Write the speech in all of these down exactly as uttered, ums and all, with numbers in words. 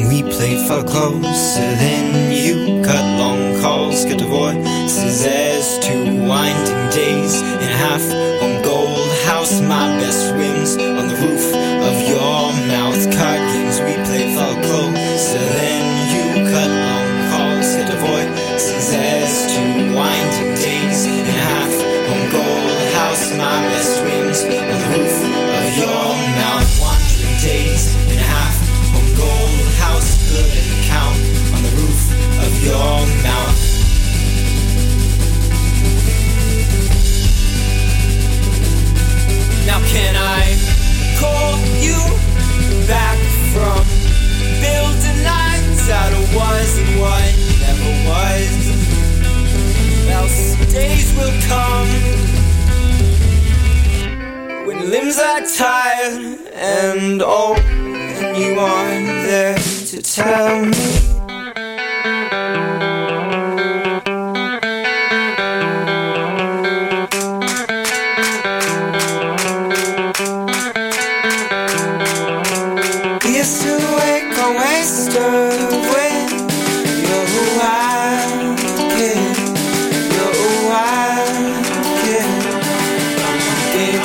and we played far closer than you. Cut long calls, cut divorces as two winding days and a half on Gold House. My best wins on the roof of your mouth. Card games, we played far closer than you. Cut long calls, cut divorces as two winding days and a half on Gold House. My best wins on the roof of your mouth. Wandering days and a half on Gold House. Good at the count on the roof of your mouth. Now can I call you back from building lines out of was and what never was? Well, some days will come when limbs are tired and old, and you aren't there to tell me. We used to wake on wasted away. You're a wild kid. You're a wild kid. Game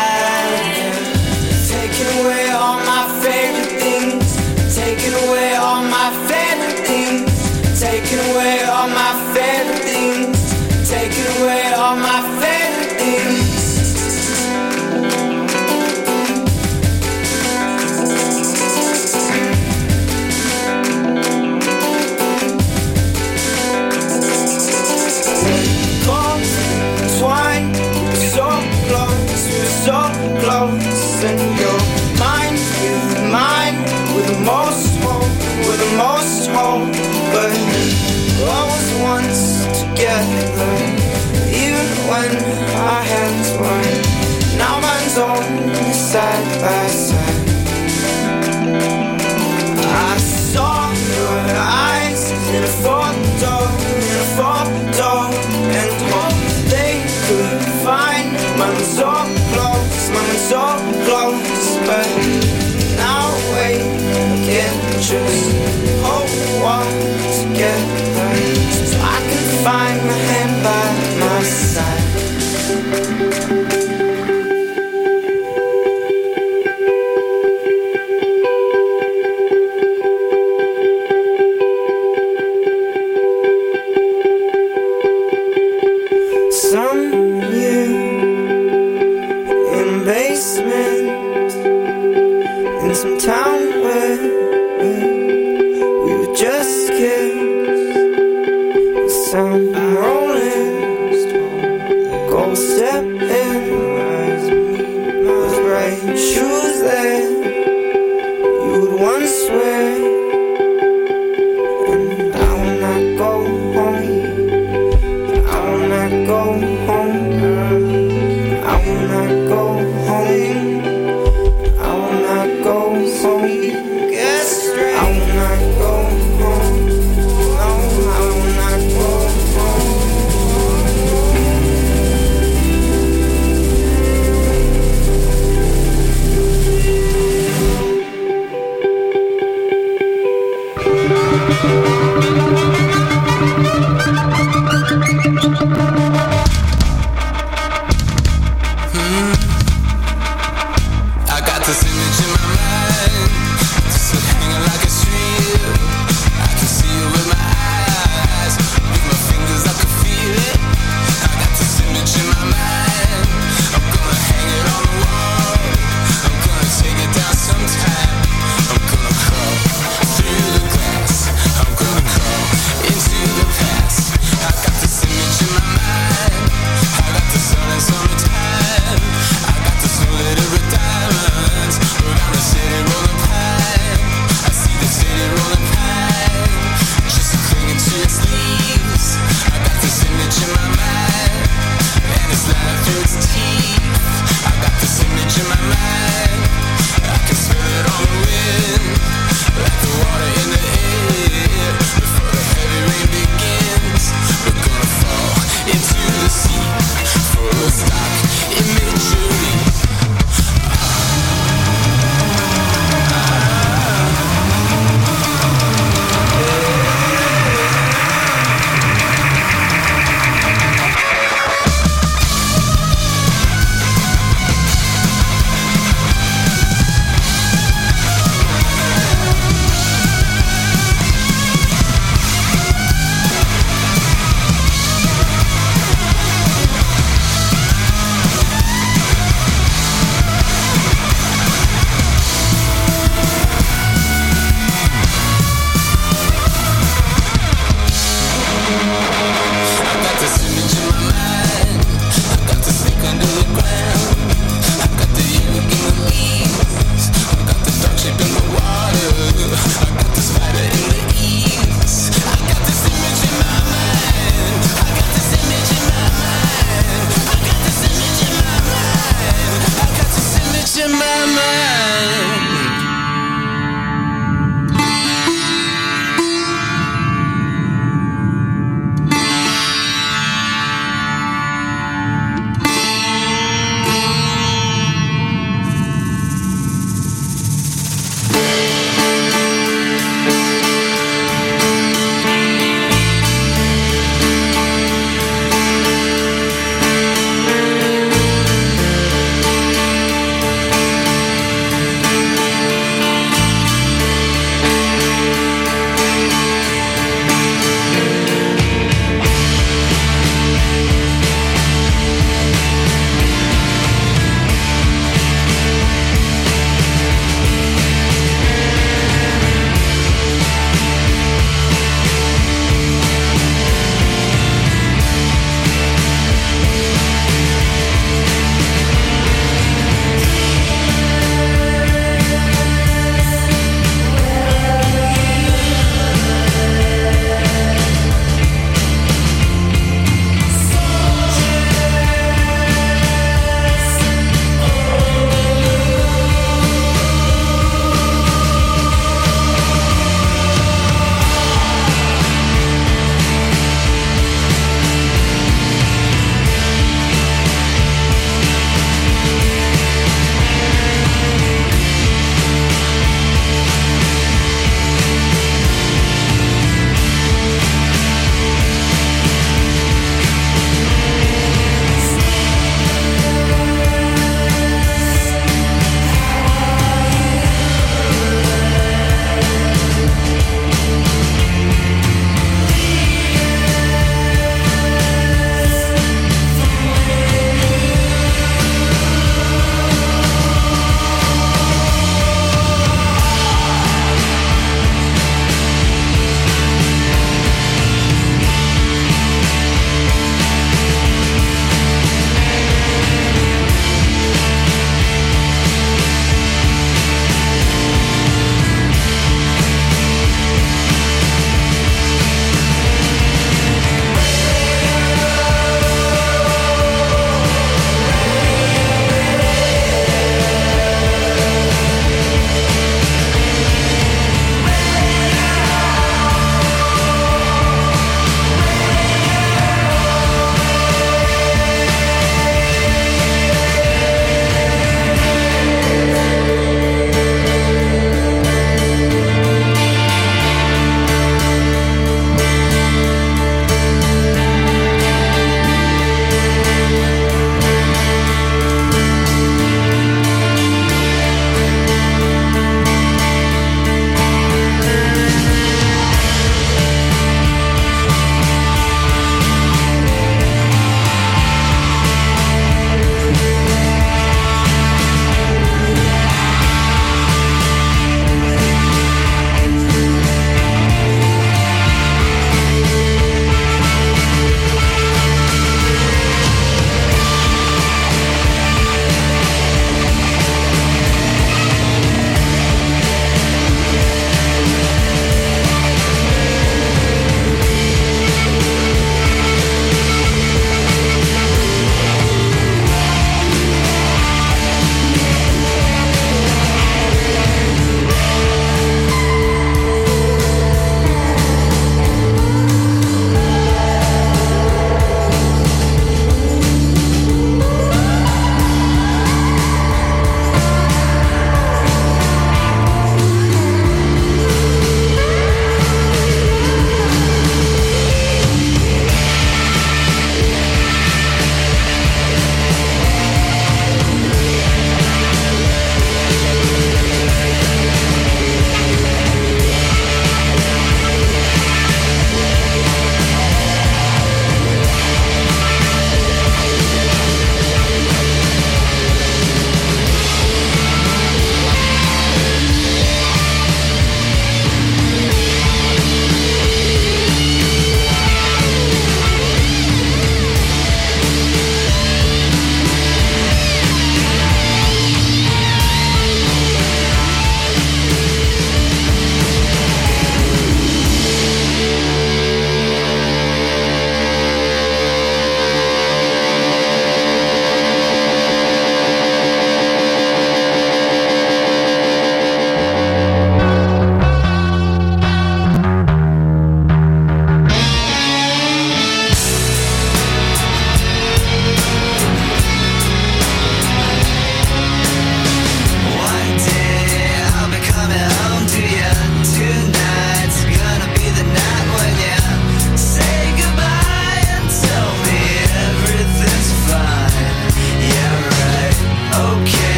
taking away all my favorite things. Taking away all my favorite things. Taking away all my favorite things. Taking away all my favorite things. And your mind with mine, with the most hope, with the most hope. But all was once together, even when our hands were. Now mine's only side by side. I saw your eyes in a photo, in a photo, and hoped they could find mine so close, mine so close. But now wait, I can't just hold on together, so I can find my hand by my side. Sometime I'm gonna crawl through the glass. I'm gonna crawl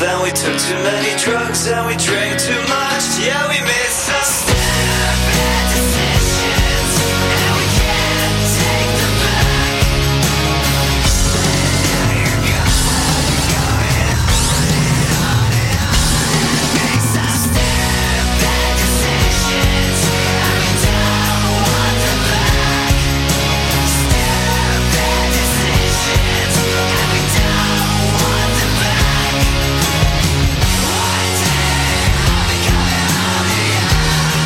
and we took too many drugs and we drank too much. Yeah, we made some stupid decisions and we can't take them back. You're going, going on and on and on. Make some stupid decisions and we don't want them back. Stupid decisions and we don't want them back. One day I'll be coming home to you.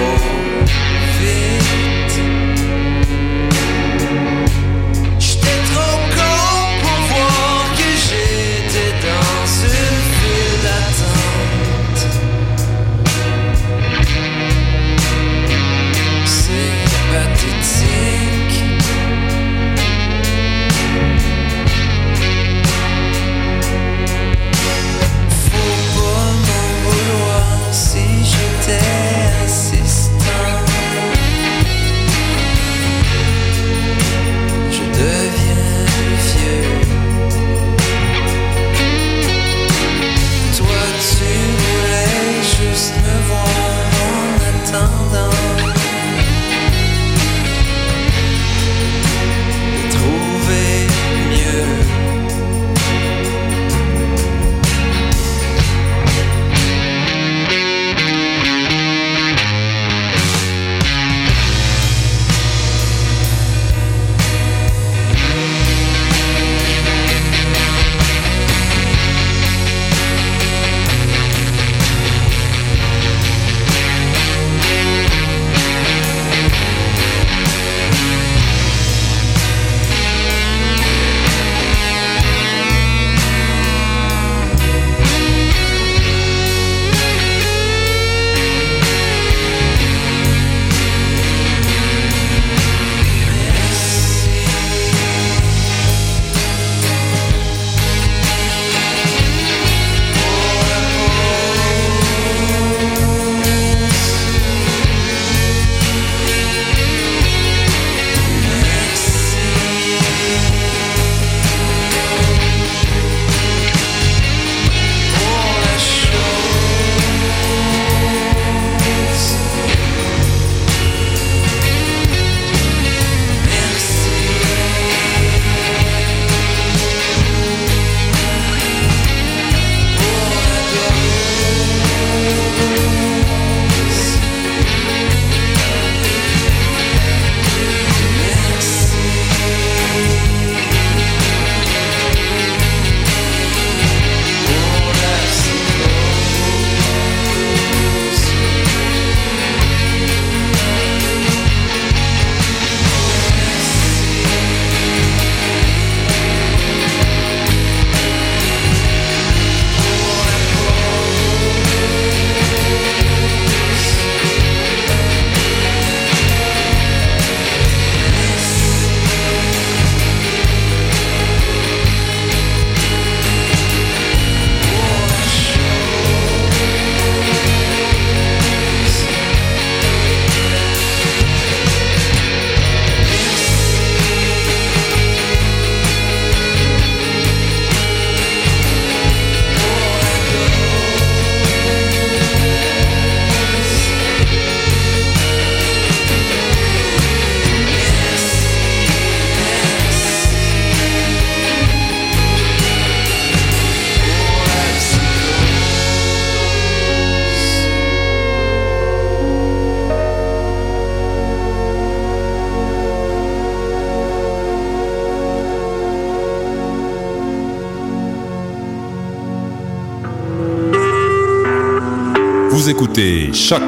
Vous écoutez Choc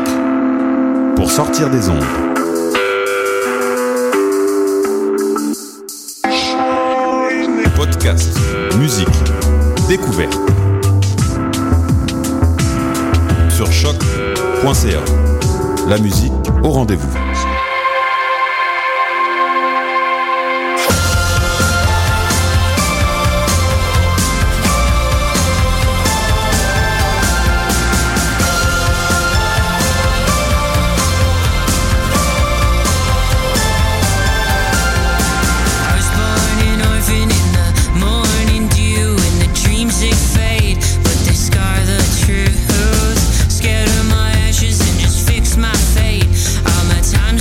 pour sortir des ondes. Podcast, musique, découverte. Sur choc point c a. La musique au rendez-vous. Scared of my ashes and just fix my fate. All my time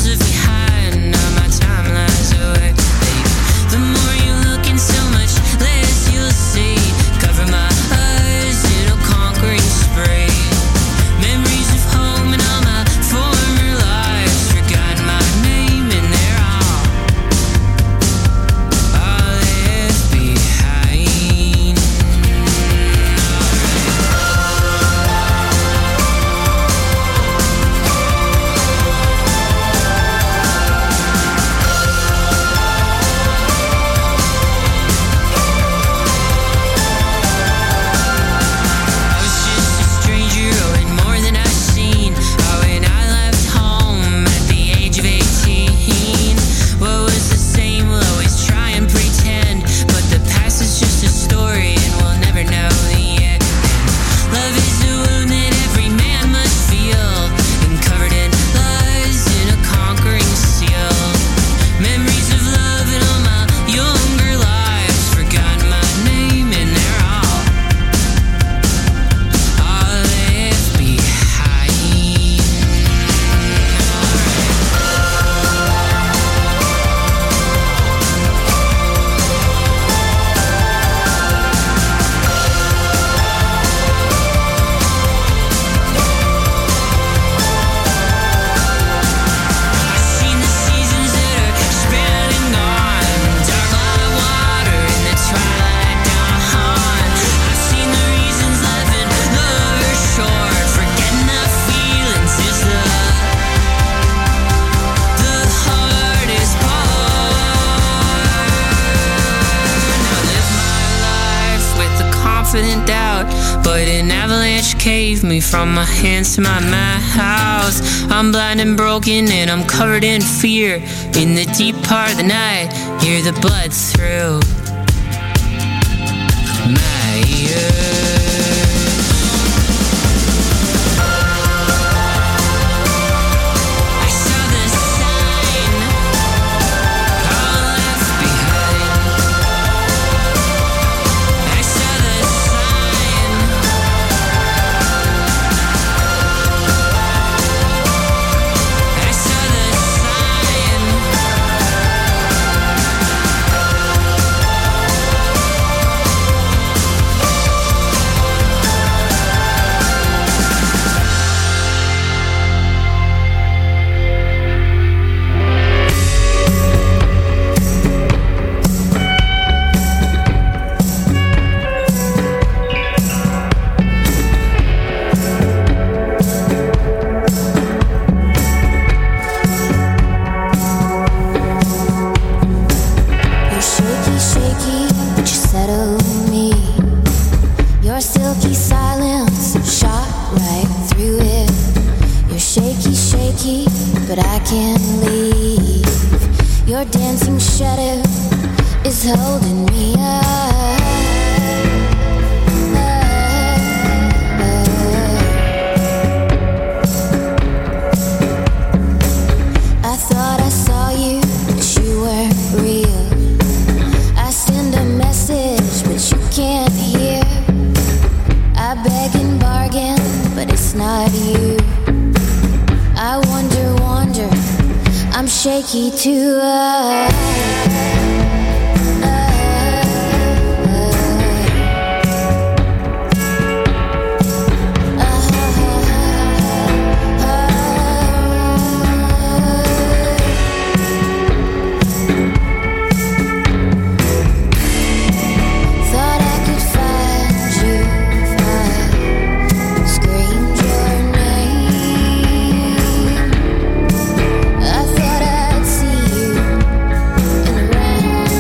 wish caved me from my hands to my house. I'm blind and broken and I'm covered in fear. In the deep part of the night, hear the blood through my ears. But I can't leave. Your dancing shadow is holding me up. I thought I saw you, but you weren't real. I send a message, but you can't hear. I beg and bargain, but it's not you. I wonder, wonder, I'm shaky too. Uh, uh, uh, uh, Thought I could find you, find, screamed your name. I thought I'd see you in the rain.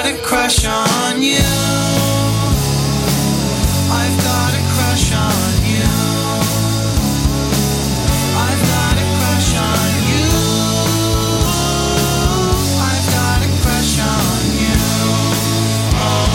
got a crush on you. I've got a crush on you. I've got a crush on you. I've got a crush on you. Oh,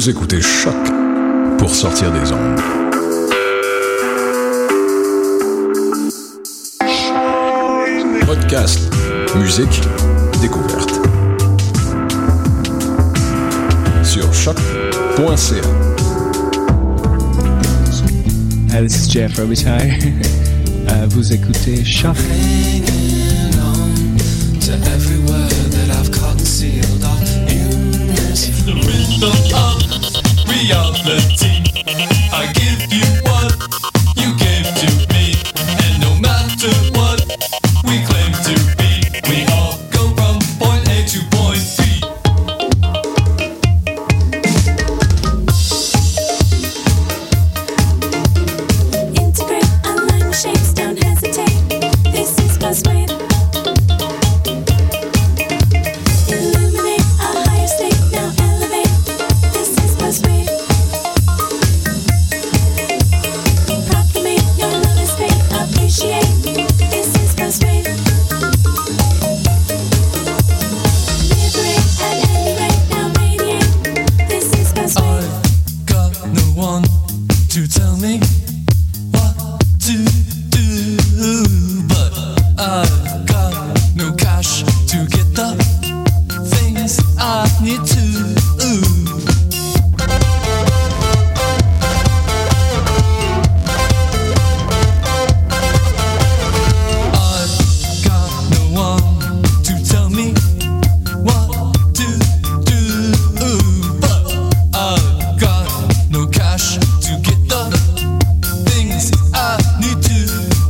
Vous écoutez Choc pour sortir des ondes. Podcast, musique, découverte. Sur choc point c a. Uh, this is Jeff Robitaille. uh, vous écoutez Choc. To every word that I've concealed of illness. It's the rhythm of reality. I give you what you gave to me, and no matter what we claim to be, we all go from point A to point B. Integrate, align the shapes, don't hesitate. This is Buzzwave. Illuminate a higher state, now elevate. This is Buzzwave. Proclamate your lowest state, appreciate. This is Buzzwave. Liberate at any rate, now radiate. This is Buzzwave. I've got no one to tell me what to do, but I've got no cash to get the things I need to. I've got no one to tell me what to do, but I've got no cash to get the things I need to.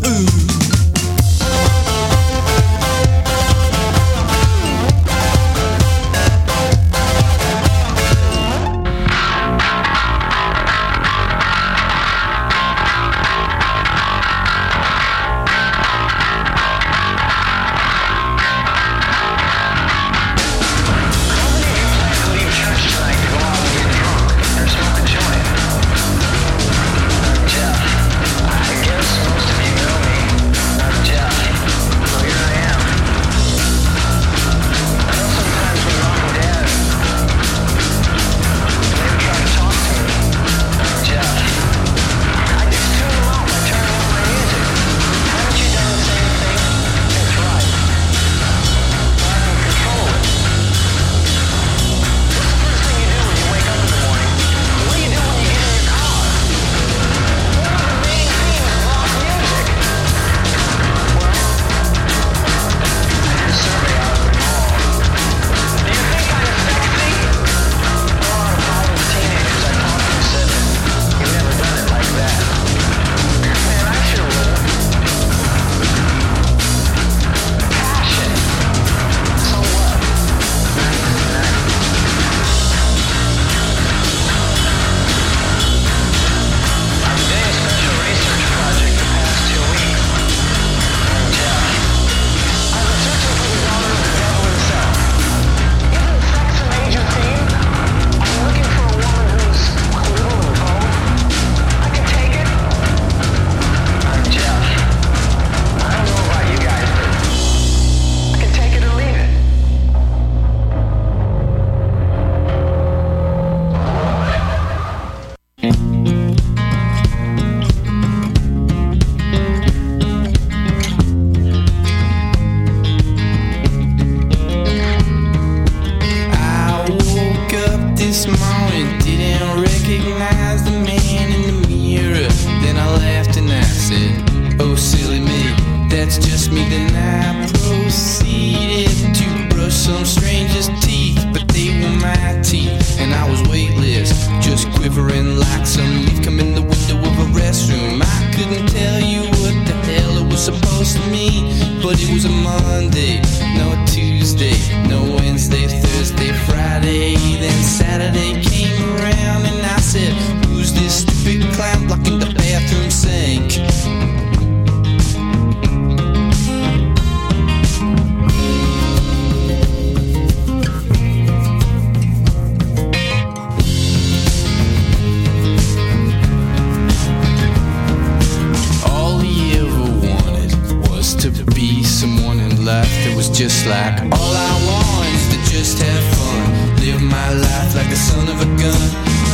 I woke up this morning, didn't recognize the man in the mirror. Then I laughed and I said, oh silly me, that's just me. Then I proceeded to brush some stranger's teeth, but they were my teeth, and I was weightless, just quivering like some leaf come in the window of a restroom. I couldn't tell you what the hell it was supposed to mean, but it was a Monday, no Tuesday, no Wednesday, Thursday, Friday. Then Saturday came around and I said, who's this stupid clown blocking the bathroom sink? All he ever wanted was to be someone in life that was just like all I want is to just have fun, live my life like the son of a gun.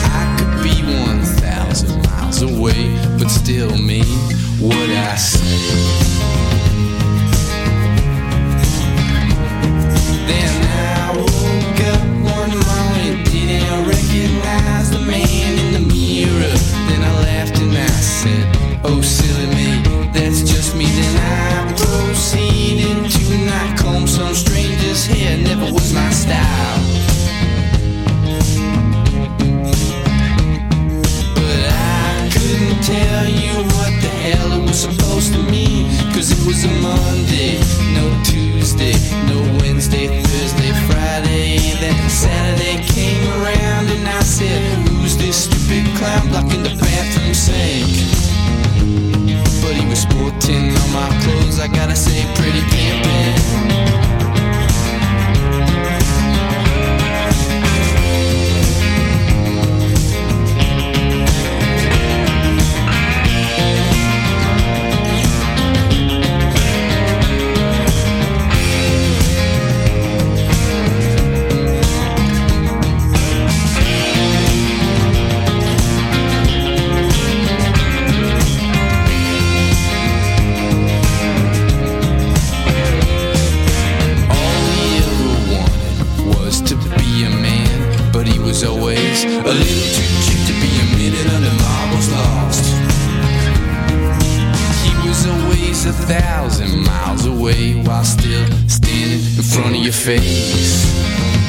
still mean what I say. Then I woke up one morning, didn't recognize the man in the mirror. Then I laughed and I said, oh silly me, that's just me. Then I proceeded to not comb some stranger's hair, never was my style. But I couldn't tell you what the hell it was supposed to mean, cause it was a Monday, no Tuesday, no Wednesday, Thursday, Friday. Then Saturday came around and I said, who's this stupid clown blocking the bathroom sink? But he was sporting all my clothes, I gotta say, pretty pimpin'. Always a little too cheap to be a minute under marbles lost. He was always a thousand miles away while still standing in front of your face.